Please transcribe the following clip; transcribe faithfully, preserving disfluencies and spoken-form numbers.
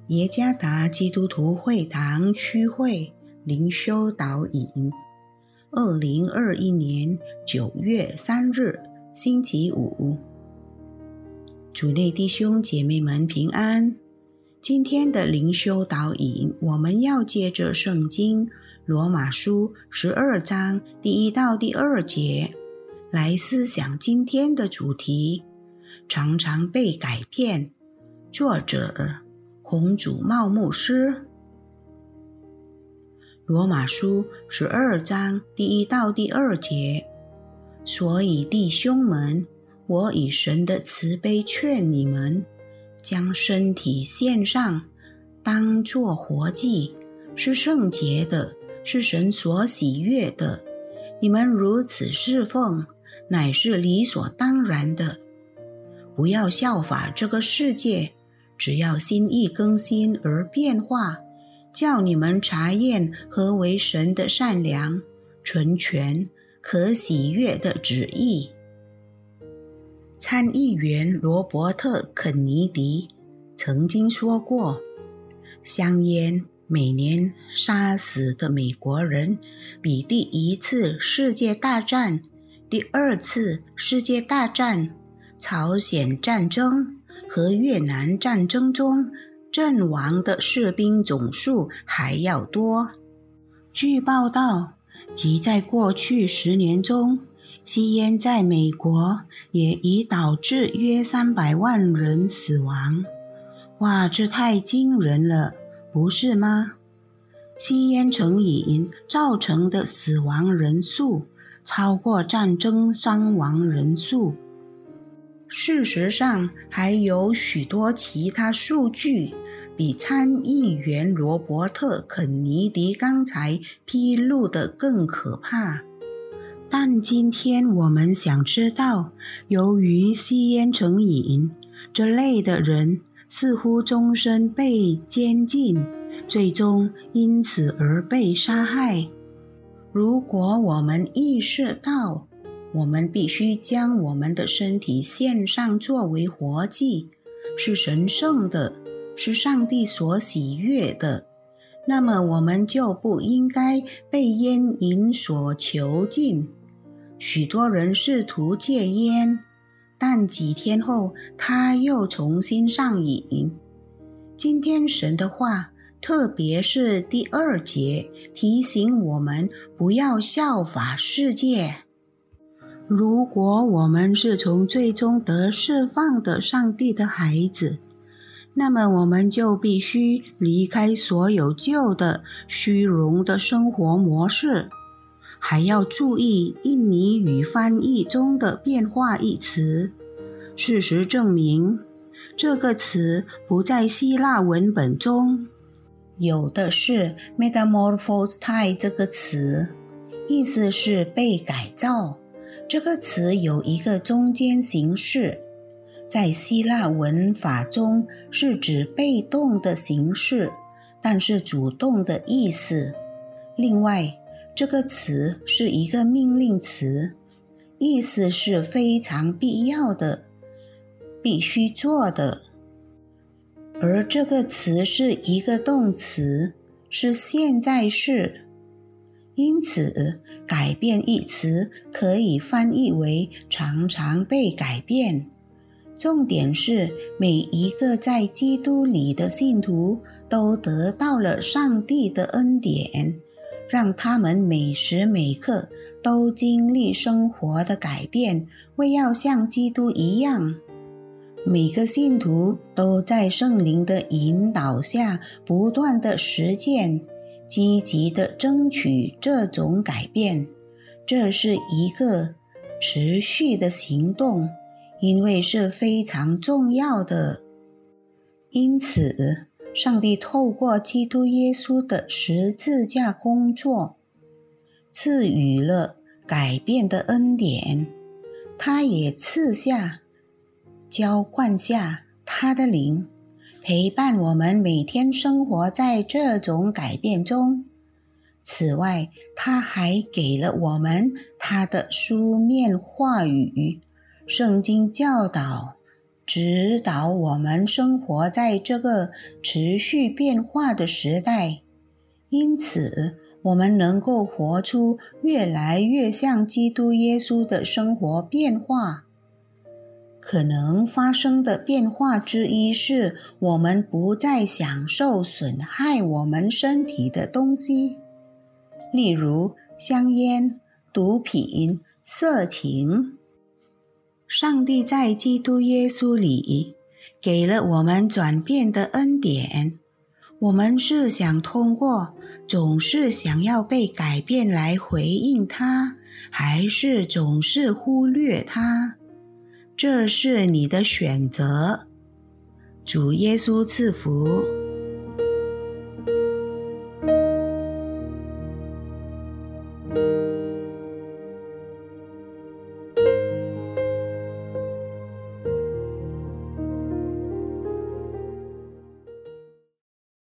耶加达基督徒会堂区会灵修导引，二零二一年九月三日，星期五。主内弟兄姐妹们平安。今天的灵修导引，我们要借着圣经罗马书十二章第一到第二节来思想今天的主题，常常被改变。作者洪祖茂牧师。罗马书十二章第一到第二节，所以弟兄们，我以神的慈悲劝你们，将身体献上，当作活祭，是圣洁的，是神所喜悦的。你们如此侍奉，乃是理所当然的。不要效法这个世界，只要心意更新而变化，叫你们察验何为神的善良、纯全、可喜悦的旨意。参议员罗伯特·肯尼迪曾经说过，香烟每年杀死的美国人比第一次世界大战、第二次世界大战、朝鲜战争和越南战争中阵亡的士兵总数还要多。据报道，即在过去十年中，吸烟在美国也已导致约三百万人死亡。哇，这太惊人了，不是吗？吸烟成瘾造成的死亡人数超过战争伤亡人数。事实上，还有许多其他数据比参议员罗伯特·肯尼迪刚才披露的更可怕。但今天我们想知道，由于吸烟成瘾，这类的人似乎终身被监禁，最终因此而被杀害。如果我们意识到我们必须将我们的身体献上作为活祭，是神圣的，是上帝所喜悦的，那么我们就不应该被烟瘾所囚禁。许多人试图戒烟，但几天后他又重新上瘾。今天神的话，特别是第二节，提醒我们不要效法世界。如果我们是从最终得释放的上帝的孩子，那么我们就必须离开所有旧的虚荣的生活模式。还要注意印尼语翻译中的变化一词。事实证明，这个词不在希腊文本中。有的是 metamorphostai 这个词，意思是被改造。这个词有一个中间形式，在希腊文法中是指被动的形式，但是主动的意思。另外，这个词是一个命令词，意思是非常必要的，必须做的。而这个词是一个动词，是现在式。因此，改变一词可以翻译为常常被改变。重点是，每一个在基督里的信徒都得到了上帝的恩典，让他们每时每刻都经历生活的改变，为要像基督一样。每个信徒都在圣灵的引导下不断的实践，积极的争取这种改变。这是一个持续的行动，因为是非常重要的。因此，上帝透过基督耶稣的十字架工作，赐予了改变的恩典。他也赐下、浇灌下他的灵，陪伴我们每天生活在这种改变中。此外，他还给了我们他的书面话语，圣经教导指导我们生活在这个持续变化的时代。因此，我们能够活出越来越像基督耶稣的生活变化。可能发生的变化之一是，我们不再享受损害我们身体的东西，例如香烟、毒品、色情。上帝在基督耶稣里给了我们转变的恩典。我们是想通过总是想要被改变来回应它，还是总是忽略它？这是你的选择。主耶稣赐福。